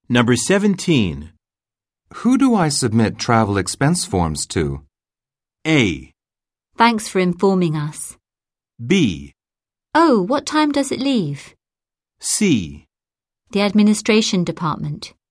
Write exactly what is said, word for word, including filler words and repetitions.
Number seventeen. Who do I submit travel expense forms to? A. Thanks for informing us. B. Oh, what time does it leave? C. The administration department.